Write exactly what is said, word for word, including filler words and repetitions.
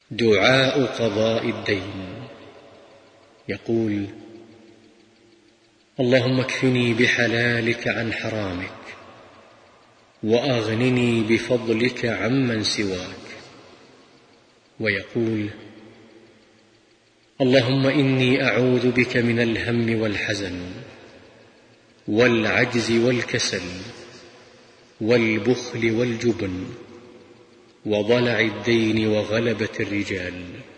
دعاء قضاء الدين. يقول: اللهم اكفني بحلالك عن حرامك، وأغنني بفضلك عمن سواك. ويقول: اللهم إني أعوذ بك من الهم والحزن والعجز والكسل والبخل والجبن وضلع الدين وغلبة الرجال.